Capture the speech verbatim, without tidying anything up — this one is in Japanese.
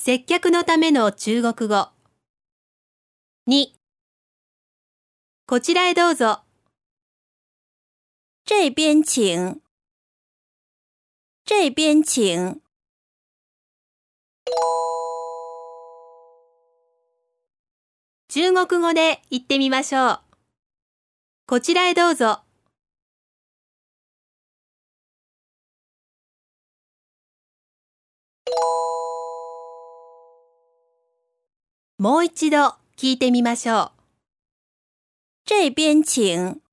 接客のための中国語。に、こちらへどうぞ。 这边请。这边请。 中国語で言ってみましょう。こちらへどうぞ。もう一度聞いてみましょう。 这边请。